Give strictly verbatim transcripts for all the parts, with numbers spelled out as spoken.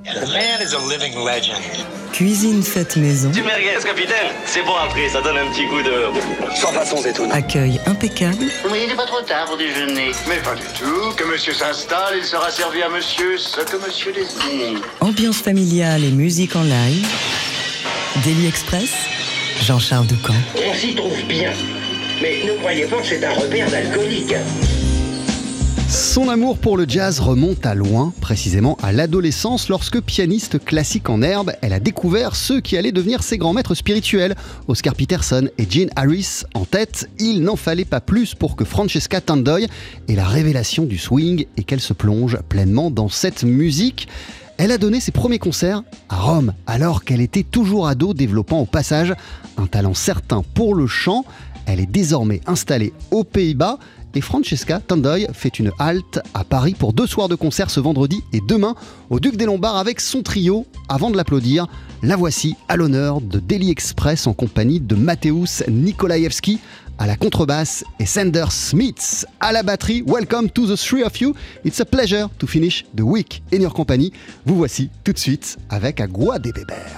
The man is a living legend. Cuisine faite maison. Du merguez, capitaine. C'est bon après, ça donne un petit coup de... Sans façon étonnante. Accueil impeccable. Oui, il n'est pas trop tard pour déjeuner. Mais pas du tout. Que monsieur s'installe, il sera servi à monsieur ce que monsieur désire. Ambiance familiale et musique en live. Daily Express, Jean-Charles Doucan. On s'y trouve bien. Mais ne croyez pas que c'est un repère d'alcoolique. Son amour pour le jazz remonte à loin, précisément à l'adolescence, lorsque pianiste classique en herbe, elle a découvert ceux qui allaient devenir ses grands maîtres spirituels. Oscar Peterson et Gene Harris en tête, il n'en fallait pas plus pour que Francesca Tandoy ait la révélation du swing et qu'elle se plonge pleinement dans cette musique. Elle a donné ses premiers concerts à Rome, alors qu'elle était toujours ado, développant au passage un talent certain pour le chant. Elle est désormais installée aux Pays-Bas. Et Francesca Tandoy fait une halte à Paris pour deux soirs de concert ce vendredi et demain au Duc des Lombards avec son trio. Avant de l'applaudir, la voici à l'honneur de Daily Express en compagnie de Mateusz Nikolaevski à la contrebasse et Sander Smith à la batterie. Welcome to the three of you. It's a pleasure to finish the week in your company. Vous voici tout de suite avec Agua de Beber.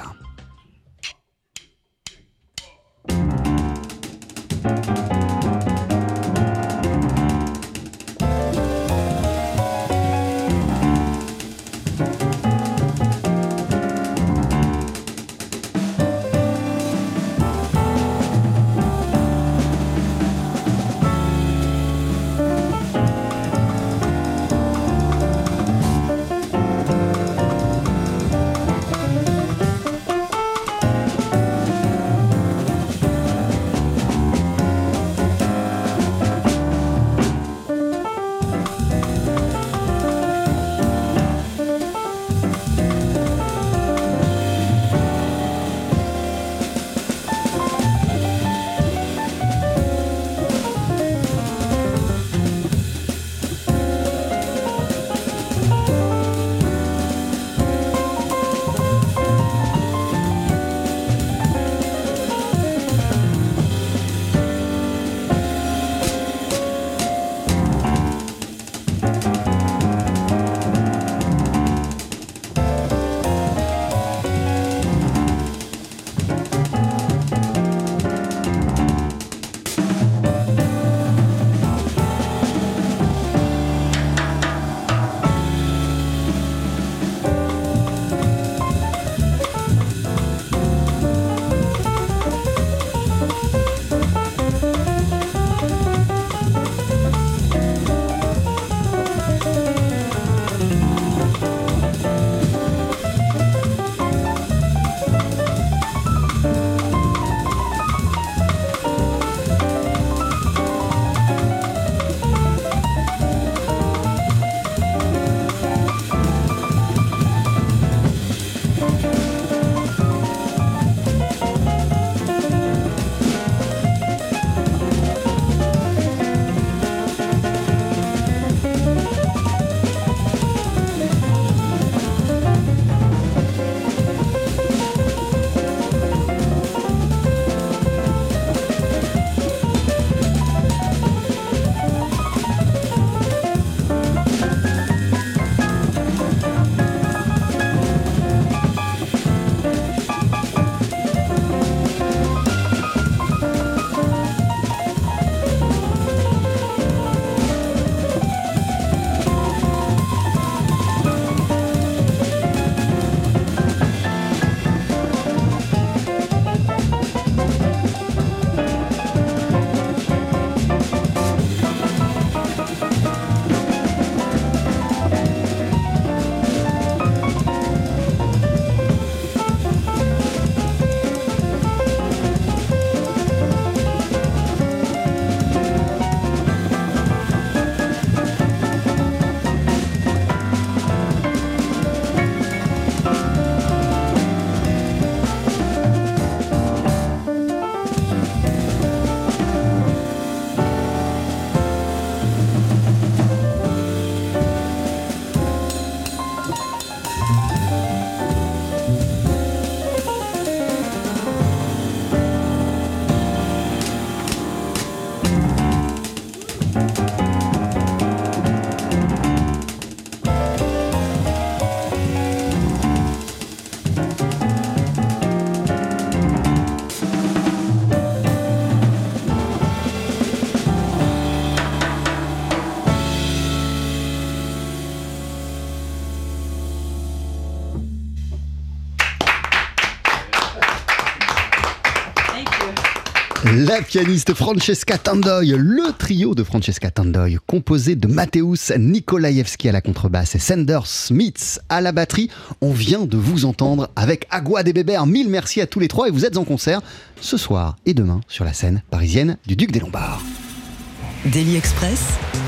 La pianiste Francesca Tandoy, le trio de Francesca Tandoy, composé de Mateusz Nikolajewski à la contrebasse et Sander Smits à la batterie. On vient de vous entendre avec Agua de Beber. Mille merci à tous les trois et vous êtes en concert ce soir et demain sur la scène parisienne du Duc des Lombards. Daily Express.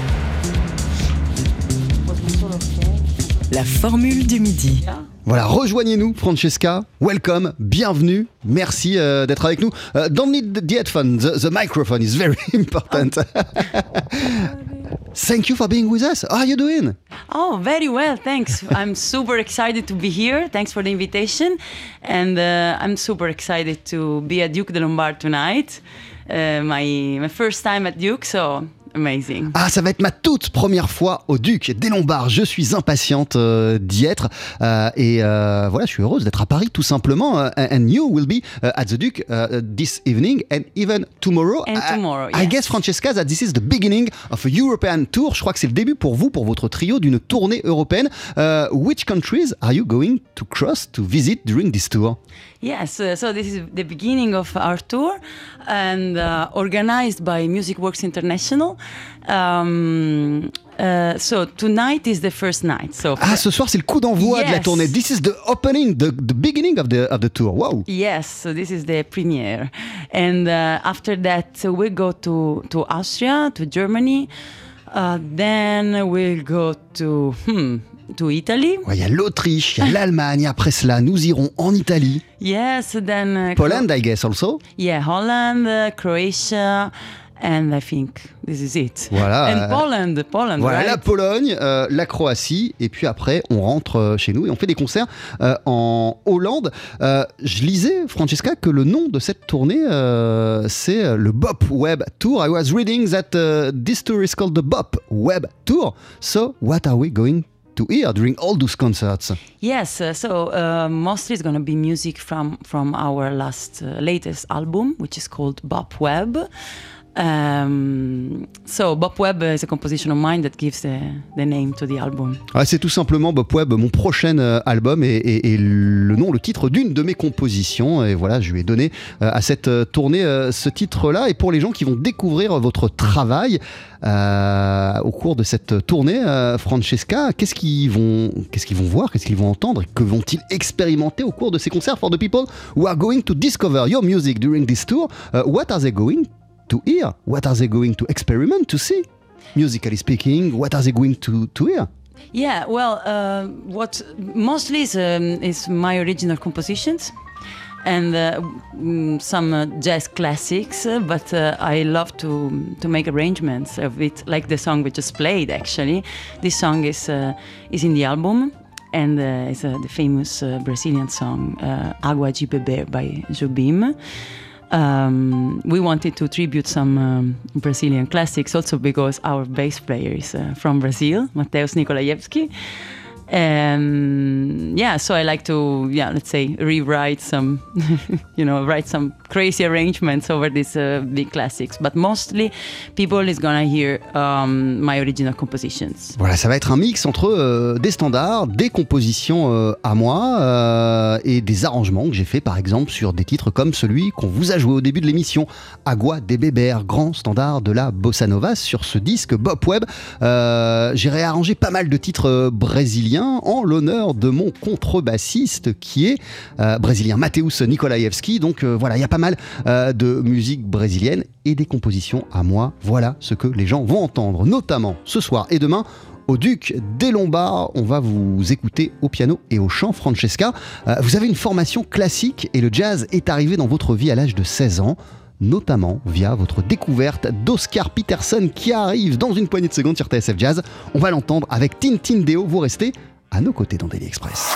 La formule du midi. Voilà, rejoignez-nous Francesca, welcome, bienvenue, merci euh, d'être avec nous. Uh, don't need the headphone, the, the microphone is very important. Thank you for being with us. How are you doing? Oh, very well, thanks. I'm super excited to be here. Thanks for the invitation. And uh, I'm super excited to be at Duke de Lombard tonight. Uh, my, my first time at Duke, so... amazing. Ah, ça va être ma toute première fois au Duc des Lombards. Je suis impatiente euh, d'y être euh, et euh, voilà, je suis heureuse d'être à Paris tout simplement. Uh, and you will be uh, at the Duc uh, this evening and even tomorrow. And tomorrow, I, yes. I guess Francesca that this is the beginning of a European tour. Je crois que c'est le début pour vous, pour votre trio, d'une tournée européenne. Uh, which countries are you going to cross to visit during this tour? Yes, uh, so this is the beginning of our tour and uh, organized by Music Works International. Um, uh, so tonight is the first night. So ah, ce soir c'est le coup d'envoi yes. de la tournée. This is the opening, the, the beginning of the, of the tour. Wow. Yes, so this is the premiere. And uh, after that so we go to, to Austria, to Germany. Uh, then we'll go to... Hmm, to Italy. Il ouais, y a l'Autriche, il y a l'Allemagne. Après cela, nous irons en Italie. Yes, then... Uh, Poland, I guess, also. Yeah, Holland, uh, Croatia, and I think this is it. Voilà. And Poland, Poland, Voilà, right? la Pologne, euh, la Croatie, et puis après, on rentre euh, chez nous et on fait des concerts euh, en Hollande. Euh, je lisais, Francesca, que le nom de cette tournée, euh, c'est le Bop Web Tour. I was reading that uh, this tour is called the Bop Web Tour. So, what are we going to hear during all those concerts? Yes, uh, so uh, mostly it's going to be music from from our last uh, latest album, which is called Bop Web. Um, so Bop Web is a composition of mine that gives the, the name to the album. Ah, c'est tout simplement Bop Web, mon prochain euh, album, et, et, et le nom, le titre d'une de mes compositions. Et voilà, je lui ai donné euh, à cette euh, tournée euh, ce titre-là. Et pour les gens qui vont découvrir votre travail euh, au cours de cette tournée, euh, Francesca, qu'est-ce qu'ils vont, qu'est-ce qu'ils vont voir, qu'est-ce qu'ils vont entendre, que vont-ils expérimenter au cours de ces concerts? For the people who are going to discover your music during this tour, uh, what are they going to hear? What are they going to experiment, to see? Musically speaking, what are they going to, to hear? Yeah, well, uh, what mostly is, um, is my original compositions and uh, mm, some uh, jazz classics, uh, but uh, I love to to make arrangements of it, like the song we just played, actually. This song is, uh, is in the album. And uh, it's uh, the famous uh, Brazilian song uh, Agua de Beber by Jobim. Um, we wanted to tribute some um, Brazilian classics also because our bass player is uh, from Brazil, Mateusz Nikolajewski. And yeah, so I like to, yeah, let's say, rewrite some, you know, write some crazy arrangements over these uh, big classics. But mostly, people is gonna hear um, my original compositions. Voilà, ça va être un mix entre euh, des standards, des compositions euh, à moi euh, et des arrangements que j'ai fait, par exemple, sur des titres comme celui qu'on vous a joué au début de l'émission, Agua de Beber, grand standard de la bossa nova sur ce disque Bop Web. Euh, j'ai réarrangé pas mal de titres euh, brésiliens en l'honneur de mon contrebassiste qui est euh, brésilien, Mateusz Nikolajewski. Donc euh, voilà, il y a pas mal euh, de musique brésilienne et des compositions à moi. Voilà ce que les gens vont entendre, notamment ce soir et demain au Duc des Lombards. On va vous écouter au piano et au chant. Francesca, euh, vous avez une formation classique et le jazz est arrivé dans votre vie à l'âge de seize ans. Notamment via votre découverte d'Oscar Peterson qui arrive dans une poignée de secondes sur T S F Jazz. On va l'entendre avec Tintin Deo. Vous restez à nos côtés dans Daily Express.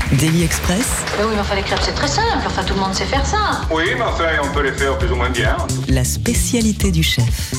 Daily Express, Mais oui, mais enfin, les crêpes, c'est très simple. Enfin, tout le monde sait faire ça. Oui, mais enfin, on peut les faire plus ou moins bien. la spécialité du chef.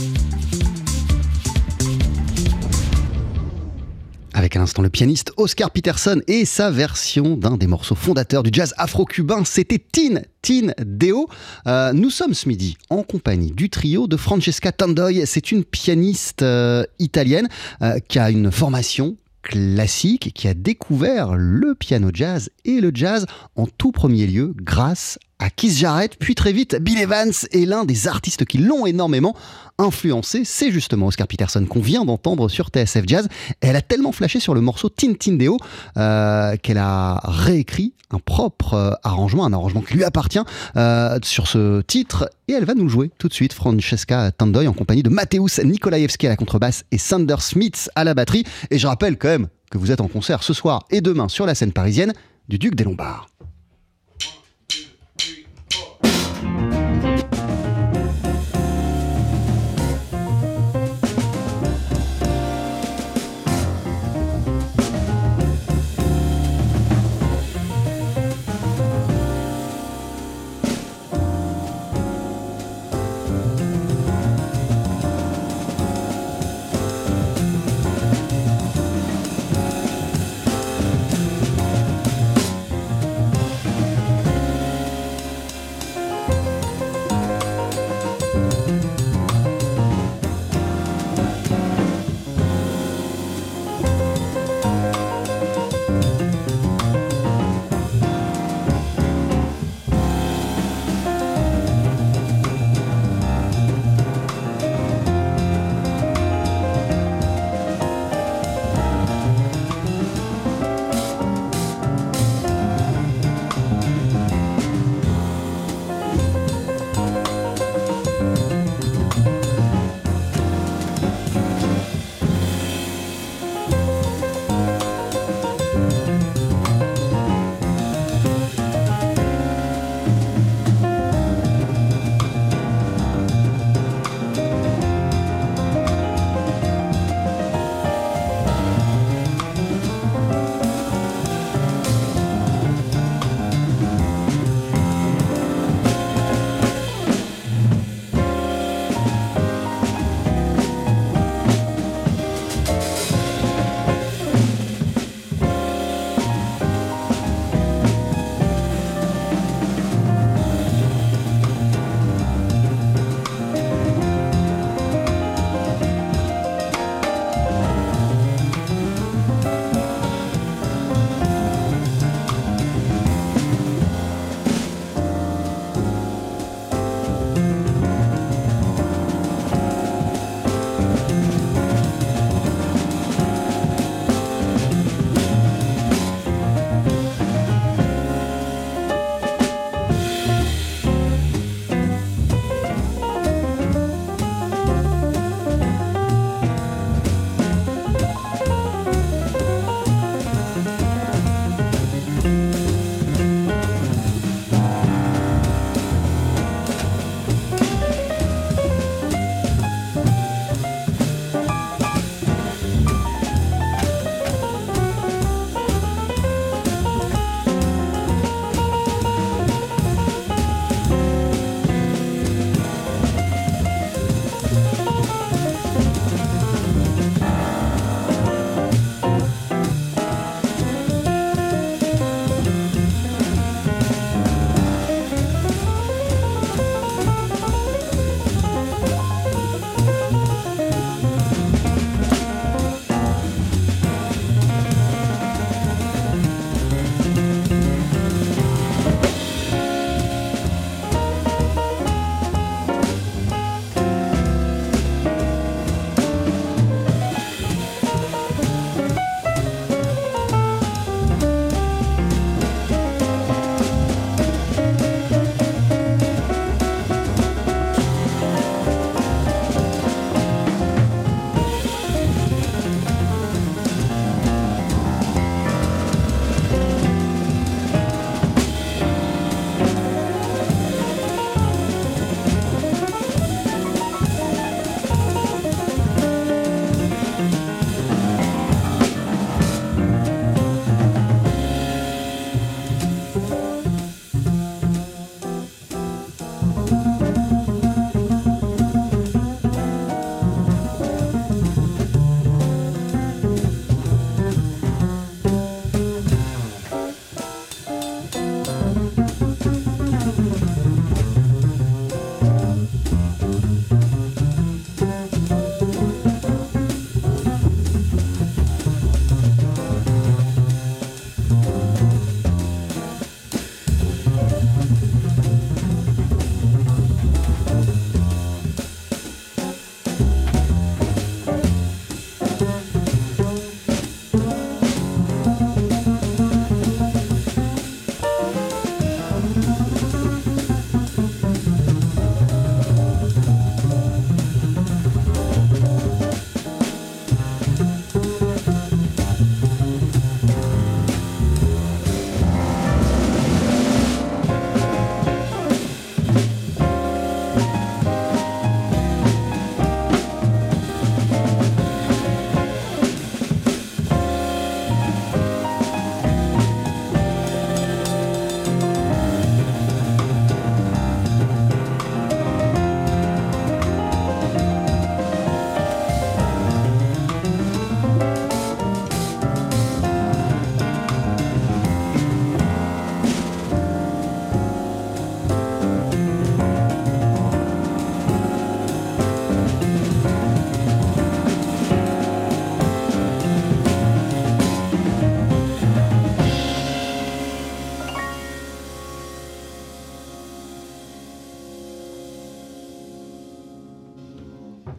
Avec à l'instant le pianiste Oscar Peterson et sa version d'un des morceaux fondateurs du jazz afro-cubain, c'était Tin Tin Deo. Euh, nous sommes ce midi en compagnie du trio de Francesca Tandoy. C'est une pianiste euh, italienne euh, qui a une formation classique, qui a découvert le piano jazz et le jazz en tout premier lieu grâce à Keith Jarrett, puis très vite Bill Evans, et l'un des artistes qui l'ont énormément influencé, c'est justement Oscar Peterson qu'on vient d'entendre sur T S F Jazz. Elle a tellement flashé sur le morceau Tin Tin Deo euh, qu'elle a réécrit un propre euh, arrangement, un arrangement qui lui appartient euh, sur ce titre, et elle va nous le jouer tout de suite, Francesca Tandoy, en compagnie de Mateusz Nikolaevski à la contrebasse et Sander Smith à la batterie. Et je rappelle quand même que vous êtes en concert ce soir et demain sur la scène parisienne du Duc des Lombards.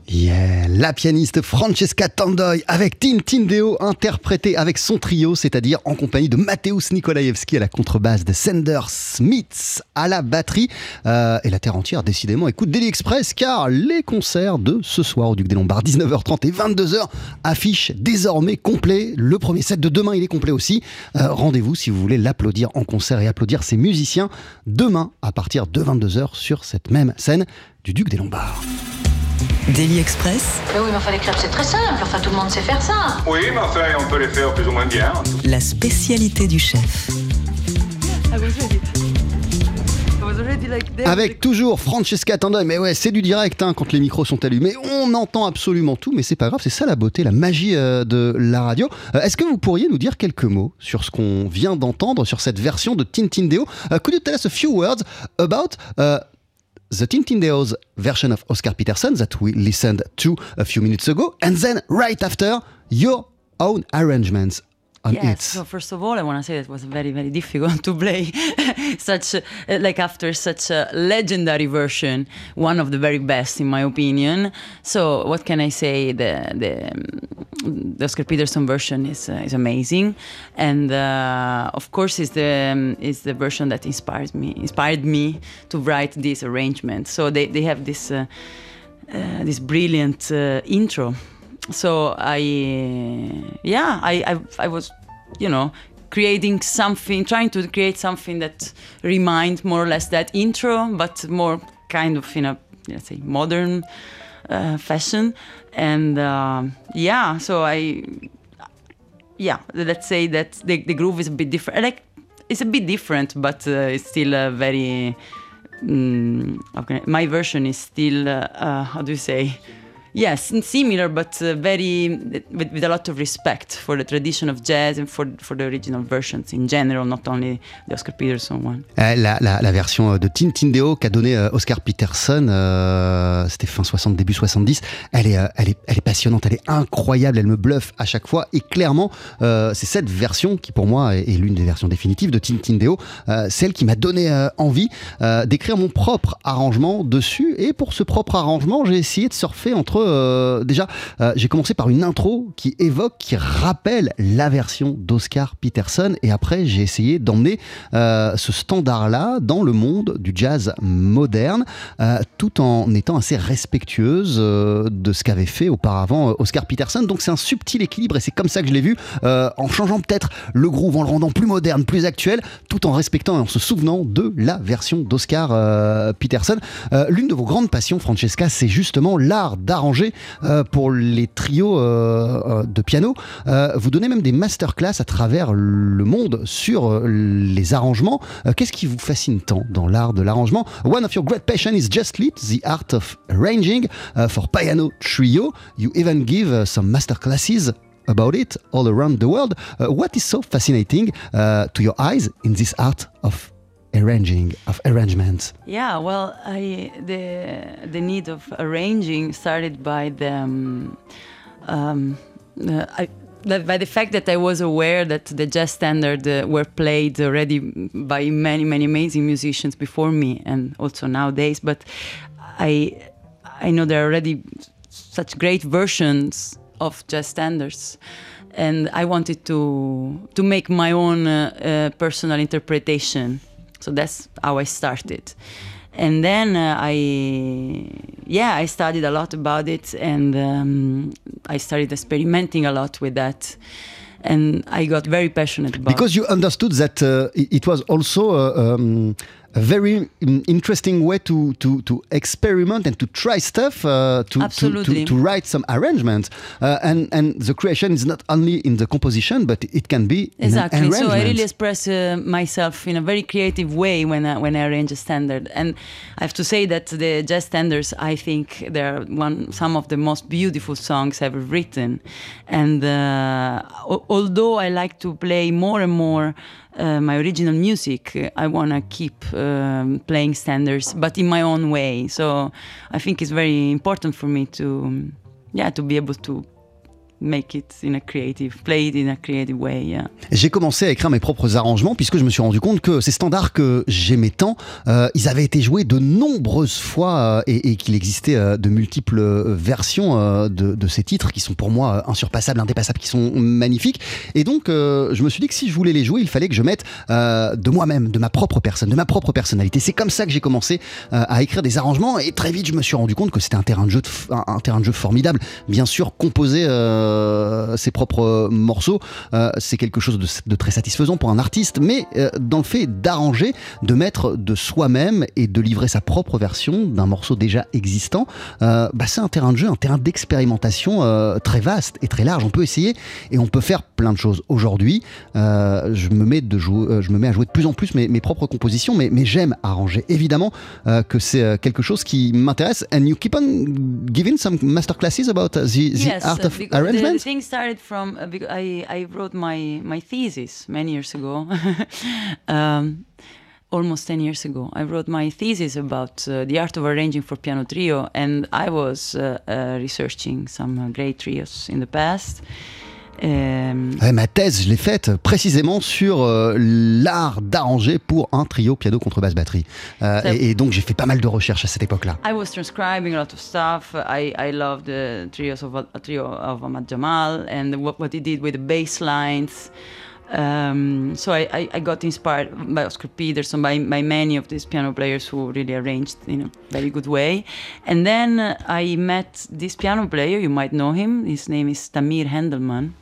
Yeah, la pianiste Francesca Tandoi avec Tintindeo interprétée avec son trio, c'est-à-dire en compagnie de Mateusz Nikolaevski à la contrebasse, de Sander Smits à la batterie. Euh, et la terre entière, décidément, écoute Daily Express, car les concerts de ce soir au Duc des Lombards, dix-neuf heures trente et vingt-deux heures, affichent désormais complet. Le premier set de demain, il est complet aussi. Euh, rendez-vous si vous voulez l'applaudir en concert et applaudir ses musiciens demain à partir de vingt-deux heures sur cette même scène du Duc des Lombards. Daily Express. Mais oui, mais enfin, les crêpes, c'est très simple. Enfin, tout le monde sait faire ça. Oui, mais enfin, on peut les faire plus ou moins bien. La spécialité du chef. Avec toujours Francesca Tandoi, mais ouais, c'est du direct hein, quand les micros sont allumés, on entend absolument tout, mais c'est pas grave, c'est ça la beauté, la magie euh, de la radio. Euh, est-ce que vous pourriez nous dire quelques mots sur ce qu'on vient d'entendre, sur cette version de Tintindeo? uh, Could you tell us a few words about uh, the Tintindeo's version of Oscar Peterson that we listened to a few minutes ago, and then right after, your own arrangements on yes, it? So first of all, I want to say that it was very, very difficult to play such, uh, like after such a legendary version, one of the very best in my opinion. So what can I say? The the, um, the Oscar Peterson version is uh, is amazing, and uh, of course is the um, is the version that inspires me inspired me to write this arrangement. So they they have this uh, uh, this brilliant uh, intro. So I, yeah, I, I, I was, you know, creating something, trying to create something that reminds more or less that intro, but more kind of in a, let's say, modern uh, fashion. And uh, yeah, so I, yeah, let's say that the, the groove is a bit different. Like, it's a bit different, but uh, it's still a very, um, okay, my version is still, uh, uh, how do you say? Yes, similar, but uh, very with, with a lot of respect for the tradition of jazz and for for the original versions in general, not only the Oscar Peterson one. La, la, la version de Tintindeo qu'a donnée Oscar Peterson, euh, c'était fin soixante, début soixante-dix. Elle est, elle est, elle est passionnante, elle est incroyable, elle me bluffe à chaque fois. Et clairement, euh, c'est cette version qui, pour moi, est, est l'une des versions définitives de Tintindeo, euh, celle qui m'a donné euh, envie euh, d'écrire mon propre arrangement dessus. Et pour ce propre arrangement, j'ai essayé de surfer entre Euh, déjà, euh, j'ai commencé par une intro qui évoque, qui rappelle la version d'Oscar Peterson, et après j'ai essayé d'emmener euh, ce standard-là dans le monde du jazz moderne, euh, tout en étant assez respectueuse euh, de ce qu'avait fait auparavant Oscar Peterson. Donc c'est un subtil équilibre, et c'est comme ça que je l'ai vu, euh, en changeant peut-être le groove, en le rendant plus moderne, plus actuel, tout en respectant et en se souvenant de la version d'Oscar euh, Peterson. Euh, l'une de vos grandes passions, Francesca, c'est justement l'art d'arranger Euh, pour les trios euh, de piano. Euh, vous donnez même des masterclass à travers le monde sur euh, les arrangements. Euh, qu'est-ce qui vous fascine tant dans l'art de l'arrangement? One of your great passions is just lit, the art of arranging uh, for piano trio. You even give uh, some masterclasses about it all around the world. Uh, what is so fascinating uh, to your eyes in this art of arranging, of arrangements? Yeah, well, I the the need of arranging started by the um, um, uh, I, by the fact that I was aware that the jazz standards uh, were played already by many many amazing musicians before me, and also nowadays. But I I know there are already such great versions of jazz standards. And I wanted to to make my own uh, uh, personal interpretation. So that's how I started. And then uh, I, yeah, I studied a lot about it, and um, I started experimenting a lot with that. And I got very passionate about it. Because you understood that uh, it was also uh, um, a very interesting way to, to, to experiment and to try stuff, uh, to, to, to, to write some arrangements. Uh, and, and the creation is not only in the composition, but it can be exactly. in an arrangement. So I really express uh, myself in a very creative way when I, when I arrange a standard. And I have to say that the jazz standards, I think they're one some of the most beautiful songs ever written. And uh, although I like to play more and more Uh, my original music, I want to keep um, playing standards, but in my own way. So I think it's very important for me to, um, yeah, to be able to make it in a creative, play it in a creative way. Yeah. J'ai commencé à écrire mes propres arrangements puisque je me suis rendu compte que ces standards que j'aimais tant, euh, ils avaient été joués de nombreuses fois euh, et, et qu'il existait euh, de multiples versions euh, de, de ces titres qui sont pour moi euh, insurpassables, indépassables, qui sont magnifiques. Et donc, euh, je me suis dit que si je voulais les jouer, il fallait que je mette euh, de moi-même, de ma propre personne, de ma propre personnalité. C'est comme ça que j'ai commencé euh, à écrire des arrangements et très vite, je me suis rendu compte que c'était un terrain de jeu, de f- un, un terrain de jeu formidable. Bien sûr, composer euh, ses propres morceaux, euh, c'est quelque chose de, de très satisfaisant pour un artiste, mais euh, dans le fait d'arranger, de mettre de soi-même et de livrer sa propre version d'un morceau déjà existant, euh, bah c'est un terrain de jeu, un terrain d'expérimentation euh, très vaste et très large. On peut essayer et on peut faire plein de choses. Aujourd'hui, euh, je me mets de jouer, euh, je me mets à jouer de plus en plus mes, mes propres compositions, mais, mais j'aime arranger. Évidemment euh, que c'est euh, quelque chose qui m'intéresse. And you keep on giving some masterclasses about uh, the, the Yes, art uh, of because the, arrangement. the thing started from uh, because I, I wrote my, my thesis many years ago, um, almost ten years ago. I wrote my thesis about uh, the art of arranging for piano trio, and I was uh, uh, researching some uh, great trios in the past. Um, Ouais, ma thèse, je l'ai faite précisément sur euh, l'art d'arranger pour un trio piano contrebasse batterie. Euh, Ça- et, et donc j'ai fait pas mal de recherches à cette époque-là. I was transcribing a lot of stuff. I, I loved the trios of a trio of Ahmad Jamal and what, what he did with the bass lines. Um, so I, I, I got inspired by Oscar Peterson, by, by many of these piano players who really arranged in a very good way. And then uh, I met this piano player, you might know him. His name is Tamir Hendelman.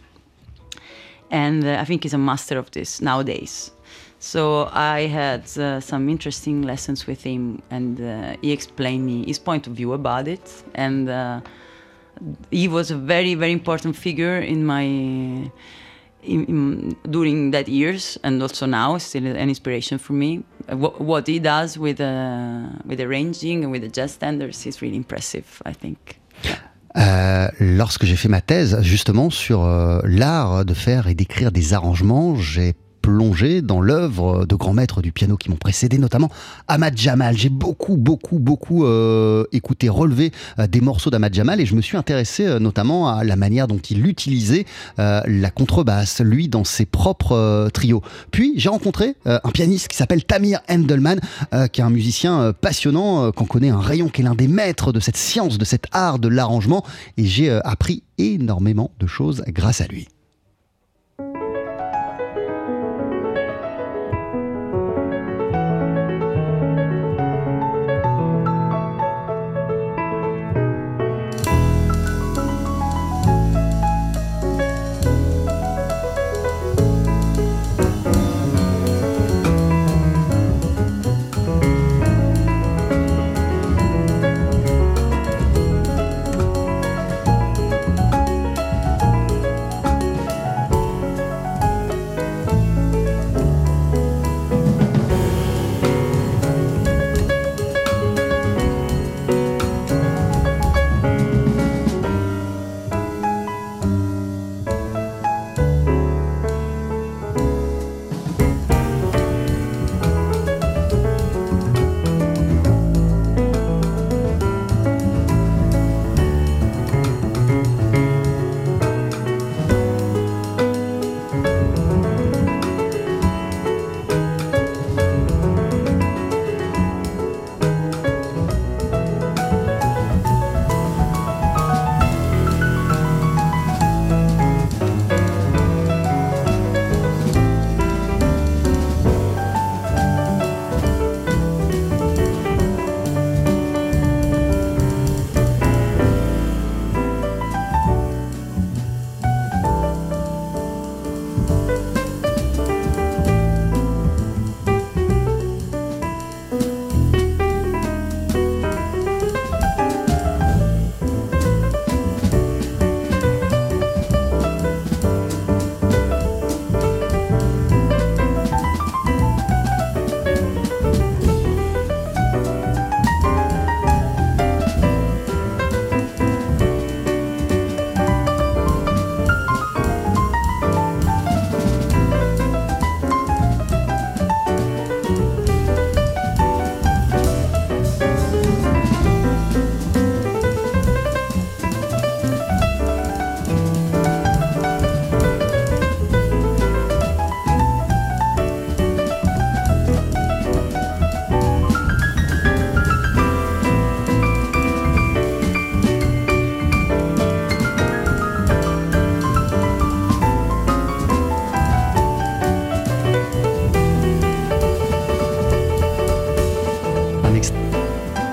And uh, I think he's a master of this nowadays. So I had uh, some interesting lessons with him, and uh, he explained me his point of view about it. And uh, he was a very, very important figure in my in, in, during that years, and also now, still an inspiration for me. What, what he does with uh, with arranging and with the jazz standards is really impressive, I think. Euh, lorsque j'ai fait ma thèse justement sur euh, l'art de faire et d'écrire des arrangements, j'ai plongé dans l'œuvre de grands maîtres du piano qui m'ont précédé, notamment Ahmad Jamal. J'ai beaucoup, beaucoup, beaucoup euh, écouté, relevé euh, des morceaux d'Ahmad Jamal et je me suis intéressé euh, notamment à la manière dont il utilisait euh, la contrebasse, lui, dans ses propres euh, trios. Puis j'ai rencontré euh, un pianiste qui s'appelle Tamir Hendelman, euh, qui est un musicien euh, passionnant, euh, qu'on connaît un rayon, qui est l'un des maîtres de cette science, de cet art de l'arrangement, et j'ai euh, appris énormément de choses grâce à lui.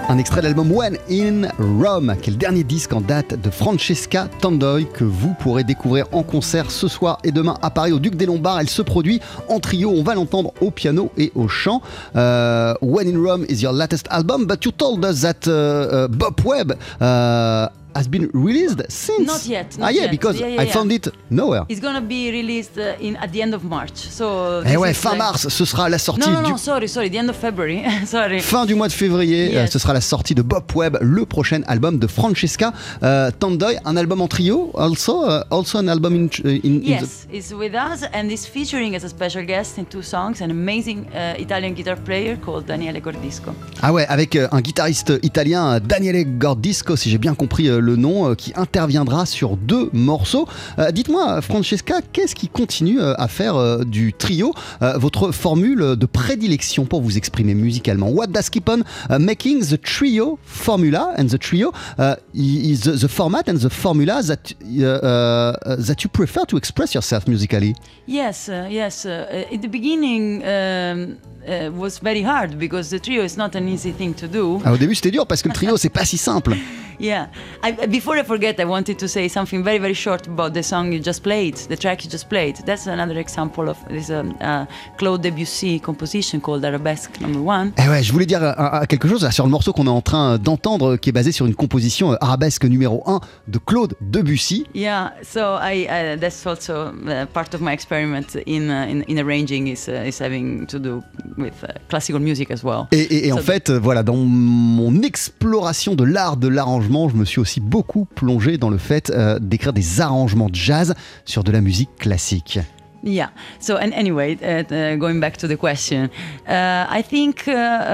Un extrait de l'album When in Rome, qui est le dernier disque en date de Francesca Tandoy, que vous pourrez découvrir en concert ce soir et demain à Paris au Duc des Lombards. Elle se produit en trio, on va l'entendre au piano et au chant. Uh, When in Rome is your latest album, but you told us that uh, uh, Bob Webb uh, has been released since. Not yet. Not ah yeah, yet. because yeah, yeah, I yeah. found it nowhere. It's gonna be released uh, in at the end of March. So. Eh this ouais, is fin like... mars, ce sera la sortie No, no, du... no, sorry, sorry, the end of February. Sorry. Fin du mois de février, Yes. euh, ce sera la sortie de Bob Webb, le prochain album de Francesca uh, Tandoy, un album en trio, also, uh, also an album in, in, in Yes, it's with us and is featuring as a special guest in two songs an amazing uh, Italian guitar player called Daniele Gordisco. the... Ah ouais, avec euh, un guitariste italien, Daniele Gordisco, si j'ai bien compris euh, le nom, euh, qui interviendra sur deux morceaux. Euh, dites-moi, Francesca, qu'est-ce qui continue euh, à faire euh, du trio euh, votre formule de prédilection pour vous exprimer musicalement? What does keep on uh, making the trio formula and the trio uh, is the, the format and the formula that uh, uh, that you prefer to express yourself musically? Yes, uh, yes. Uh, at the beginning um, uh, was very hard because the trio is not an easy thing to do. Ah, au début, c'était dur parce que le trio, c'est pas si simple. Yeah. I, before I forget, I wanted to say something very, very short about the song you just played, the track you just played. That's another example of this um, uh, Claude Debussy composition called Arabesque Number One. Eh ouais, je voulais dire uh, uh, quelque chose là, sur le morceau qu'on est en train d'entendre, qui est basé sur une composition uh, arabesque numéro un de Claude Debussy. Yeah, so I uh, that's also uh, part of my experiment in uh, in, in arranging is uh, is having to do with uh, classical music as well. Et, et, et So en fait, euh, voilà, dans mon exploration de l'art de l'arrangement, je me suis aussi beaucoup plongé dans le fait euh, d'écrire des arrangements de jazz sur de la musique classique. Yeah. So, and anyway, uh, uh, going back to the question, uh, I think, uh,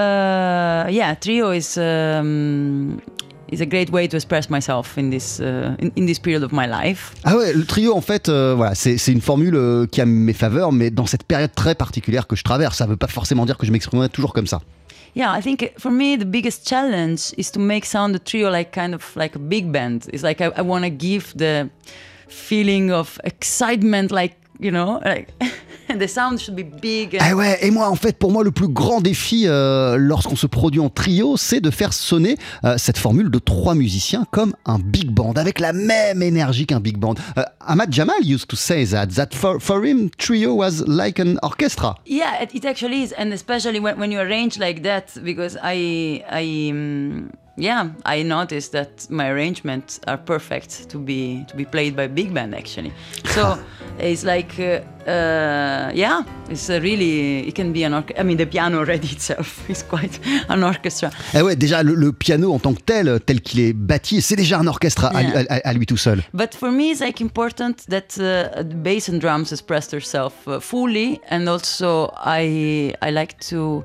uh, yeah, trio is um, is a great way to express myself in this uh, in, in this period of my life. Ah ouais, le trio, en fait, euh, voilà, c'est, c'est une formule euh, qui a mes faveurs, mais dans cette période très particulière que je traverse, ça ne veut pas forcément dire que je m'exprimerai toujours comme ça. Yeah, I think for me the biggest challenge is to make sound the trio like kind of like a big band. It's like I, I want to give the feeling of excitement, like, you know, like the sound should be big. And... Ah ouais, et moi, en fait, pour moi, le plus grand défi euh, lorsqu'on se produit en trio, c'est de faire sonner euh, cette formule de trois musiciens comme un big band, avec la même énergie qu'un big band. Uh, Ahmad Jamal used to say that, that for, for him, trio was like an orchestra. Yeah, it, it actually is, and especially when, when you arrange like that, because I, I, um, yeah, I noticed that my arrangements are perfect to be to be played by big band actually. So it's like, uh, uh, yeah, it's a really, it can be an orchestra. I mean, the piano already itself is quite an orchestra. Eh ouais, déjà le, le piano en tant que tel, tel qu'il est bâti, c'est déjà un orchestre à, Yeah. à, à lui tout seul. But for me, it's like important that uh, the bass and drums express themselves uh, fully, and also I I like to.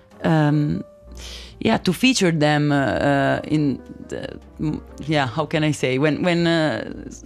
Um, Yeah, to feature them uh, uh, in, the, yeah, how can I say, when, when, uh,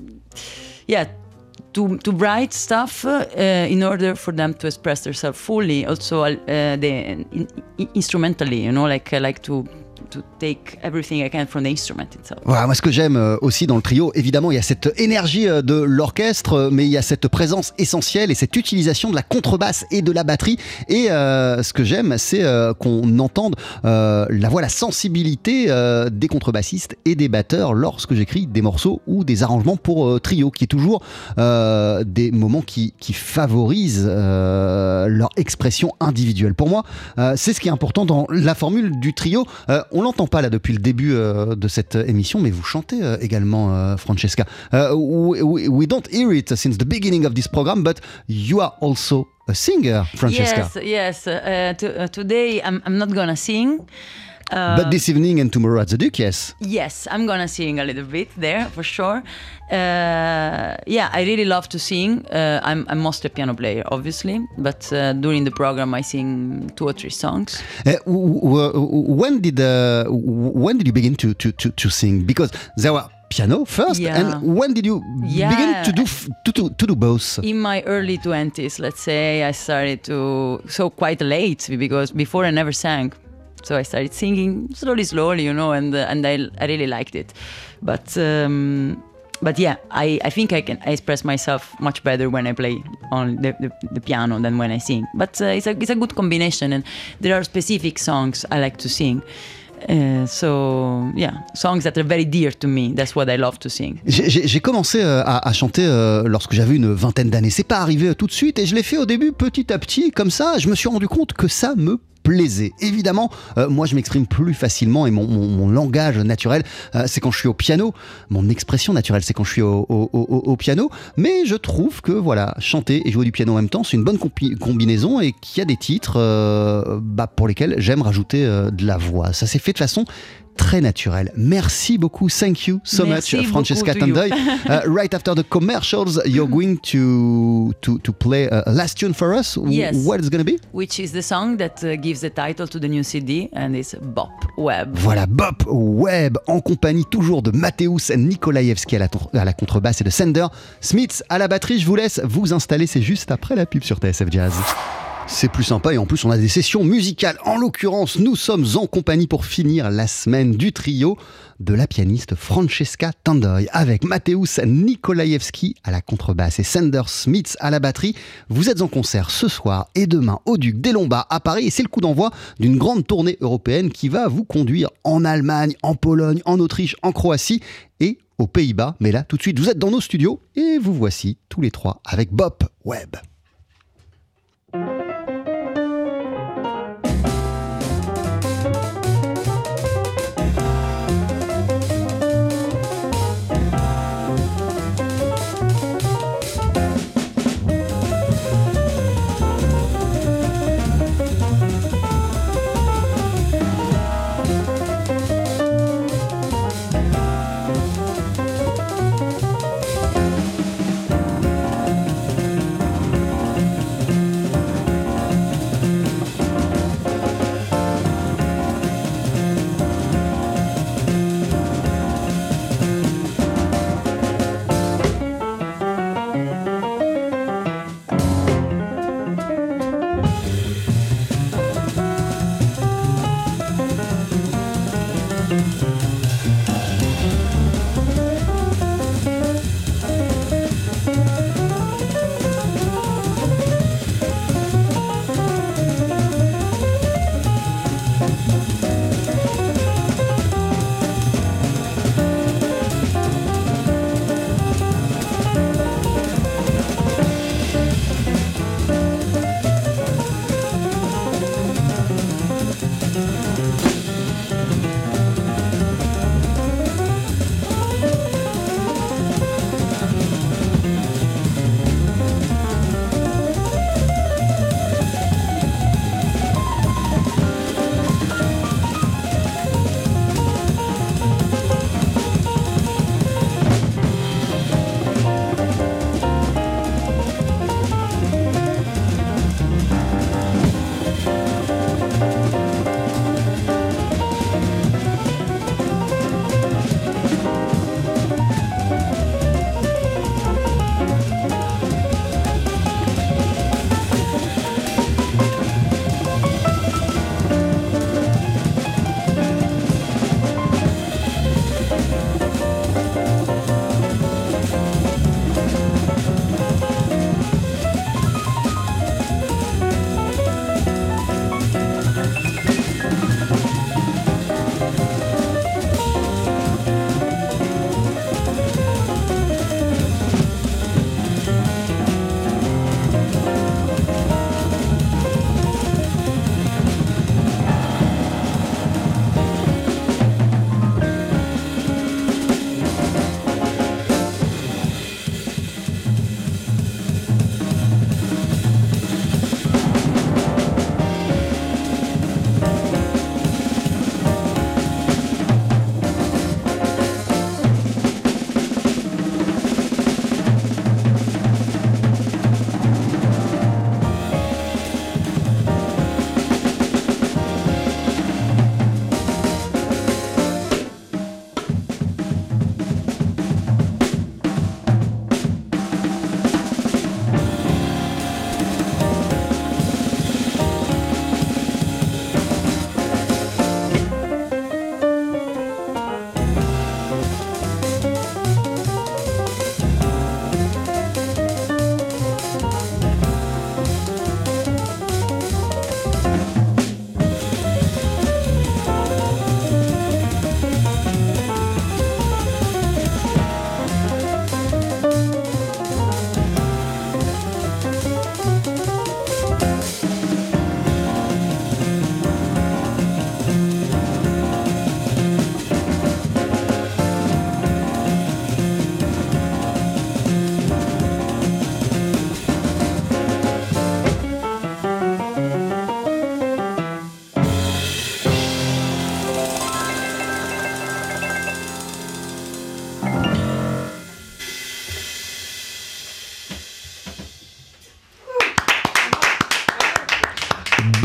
yeah, to to write stuff uh, in order for them to express themselves fully. Also, uh, the in, in, instrumentally, you know, like I like to. to take everything I can from the instrument itself. Voilà, moi ce que j'aime euh, aussi dans le trio, évidemment il y a cette énergie euh, de l'orchestre, euh, mais il y a cette présence essentielle et cette utilisation de la contrebasse et de la batterie. Et euh, ce que j'aime, c'est euh, qu'on entende euh, la voix, la sensibilité euh, des contrebassistes et des batteurs lorsque j'écris des morceaux ou des arrangements pour euh, trio, qui est toujours euh, des moments qui, qui favorisent euh, leur expression individuelle. Pour moi, euh, c'est ce qui est important dans la formule du trio. Euh, on l'entend pas là depuis le début euh, de cette émission, mais vous chantez euh, également, euh, Francesca. Uh, we, we don't hear it since the beginning of this program, but you are also a singer, Francesca. Yes, yes. Uh, to, uh, today I'm, I'm not gonna sing. Uh, But this evening and tomorrow at the Duke, yes. Yes, I'm gonna sing a little bit there for sure. Uh, yeah, I really love to sing. Uh, I'm, I'm mostly a piano player, obviously, but uh, during the program I sing two or three songs. Uh, w- w- when did uh, when did you begin to, to, to, to sing? Because there were piano first, Yeah. and when did you Yeah. begin to do f- to, to, to do both? In my early twenties, let's say, I started to, so quite late, because before I never sang. So I started singing slowly, slowly, you know, and uh, and I, I really liked it. But um, but yeah, I, I think I can I express myself much better when I play on the, the, the piano than when I sing. But uh, it's a it's a good combination, and there are specific songs I like to sing. Uh, so yeah, songs that are very dear to me. That's what I love to sing. J'ai, j'ai, j'ai commencé euh, à, à chanter euh, lorsque j'avais une vingtaine d'années. C'est pas arrivé euh, tout de suite et je l'ai fait au début petit à petit, comme ça. Je me suis rendu compte que ça me plaisait. Évidemment, euh, moi je m'exprime plus facilement et mon, mon, mon langage naturel, euh, c'est quand je suis au piano. Mon expression naturelle, c'est quand je suis au, au, au, au piano. Mais je trouve que voilà, chanter et jouer du piano en même temps, c'est une bonne compi- combinaison et qu'il y a des titres euh, bah, pour lesquels j'aime rajouter euh, de la voix. Ça s'est fait de façon très naturel. Merci beaucoup. Thank you so Merci much, Francesca beaucoup to you. Tandoy. uh, right after the commercials, you're going to to to play a last tune for us. Yes. What is going to be? Which is the song that uh, gives the title to the new C D, and it's Bop Web. Voilà, Bop Web, en compagnie toujours de Mateusz Nikolaevski à la, à la contrebasse et de Sander Smith à la batterie. Je vous laisse vous installer, c'est juste après la pub sur T S F Jazz. C'est plus sympa et en plus on a des sessions musicales. En l'occurrence, nous sommes en compagnie pour finir la semaine du trio de la pianiste Francesca Tandoy avec Mateusz Nikolaevski à la contrebasse et Sander Smith à la batterie. Vous êtes en concert ce soir et demain au Duc des Lombards à Paris et c'est le coup d'envoi d'une grande tournée européenne qui va vous conduire en Allemagne, en Pologne, en Autriche, en Croatie et aux Pays-Bas. Mais là, tout de suite, vous êtes dans nos studios et vous voici tous les trois avec Bop Web.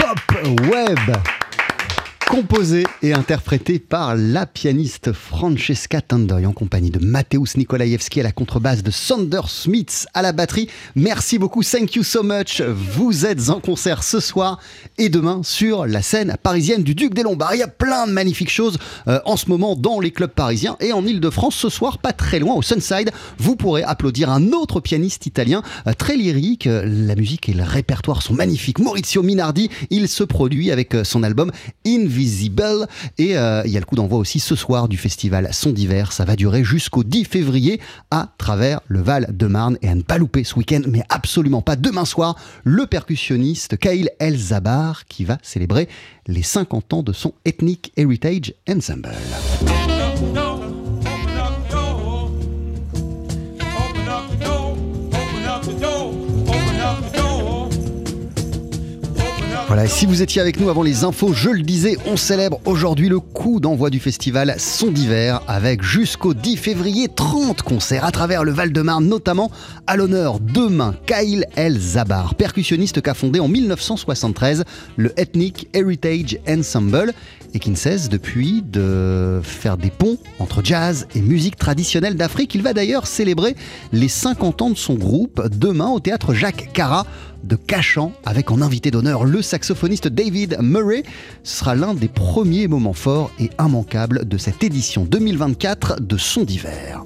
Pop Web. Composé et interprété par la pianiste Francesca Tandoy en compagnie de Mateusz Nikolaevski à la contrebasse, de Sander Smits à la batterie. Merci beaucoup, thank you so much. Vous êtes en concert ce soir et demain sur la scène parisienne du Duc des Lombards. Il y a plein de magnifiques choses euh, en ce moment dans les clubs parisiens et en Ile-de-France. Ce soir, pas très loin, au Sunside, vous pourrez applaudir un autre pianiste italien euh, très lyrique. La musique et le répertoire sont magnifiques. Maurizio Minardi, il se produit avec euh, son album Invisible. Et euh, il y a le coup d'envoi aussi ce soir du festival Son d'hiver. Ça va durer jusqu'au dix février à travers le Val-de-Marne. Et à ne pas louper ce week-end, mais absolument pas demain soir, le percussionniste Khail El-Zabar qui va célébrer les cinquante ans de son Ethnic Heritage Ensemble. Voilà, et si vous étiez avec nous avant les infos, je le disais, on célèbre aujourd'hui le coup d'envoi du festival Son d'hiver avec jusqu'au dix février trente concerts à travers le Val-de-Marne, notamment à l'honneur demain Khail El-Zabar, percussionniste qu'a fondé en dix-neuf cent soixante-treize le Ethnic Heritage Ensemble et qui ne cesse depuis de faire des ponts entre jazz et musique traditionnelle d'Afrique. Il va d'ailleurs célébrer les cinquante ans de son groupe demain au théâtre Jacques Carrat de Cachan, avec en invité d'honneur le saxophoniste David Murray. Ce sera l'un des premiers moments forts et immanquables de cette édition deux mille vingt-quatre de Son d'hiver.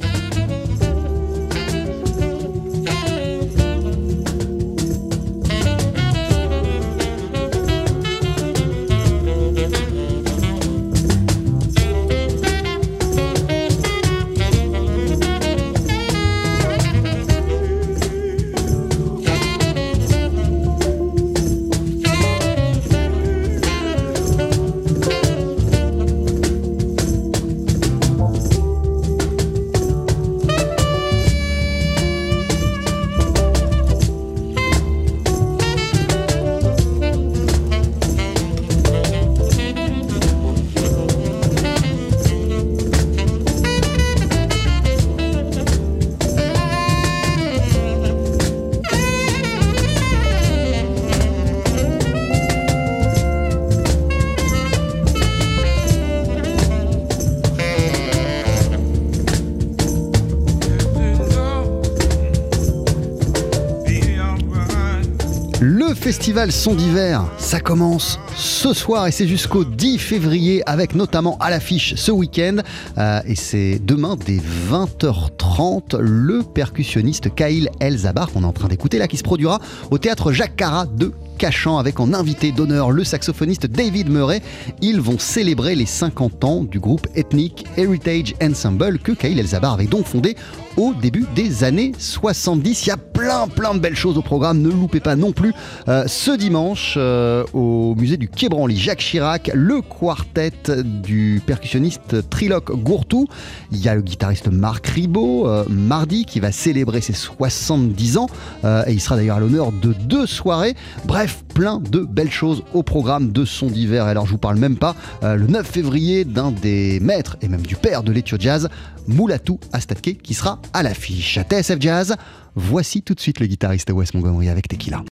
Le festival Son d'hiver, ça commence ce soir et c'est jusqu'au dix février avec notamment à l'affiche ce week-end euh, et c'est demain dès vingt heures trente le percussionniste Khail El-Zabar qu'on est en train d'écouter là qui se produira au théâtre Jacques Carrat de Cachan avec en invité d'honneur le saxophoniste David Murray. Ils vont célébrer les cinquante ans du groupe Ethnic Heritage Ensemble que Khail El-Zabar avait donc fondé au début des années soixante-dix. Il y a plein plein de belles choses au programme, ne loupez pas non plus euh, ce dimanche euh, au musée du Quai Branly Jacques Chirac, le quartet du percussionniste Trilok Gourtou. Il y a le guitariste Marc Ribot euh, mardi qui va célébrer ses soixante-dix ans euh, et il sera d'ailleurs à l'honneur de deux soirées. Bref, plein de belles choses au programme de Son d'hiver. Et alors je vous parle même pas euh, le neuf février d'un des maîtres et même du père de l'Ethio Jazz, Mulatu Astatke, qui sera à l'affiche. T S F Jazz, voici tout de suite le guitariste Wes Montgomery avec Tequila.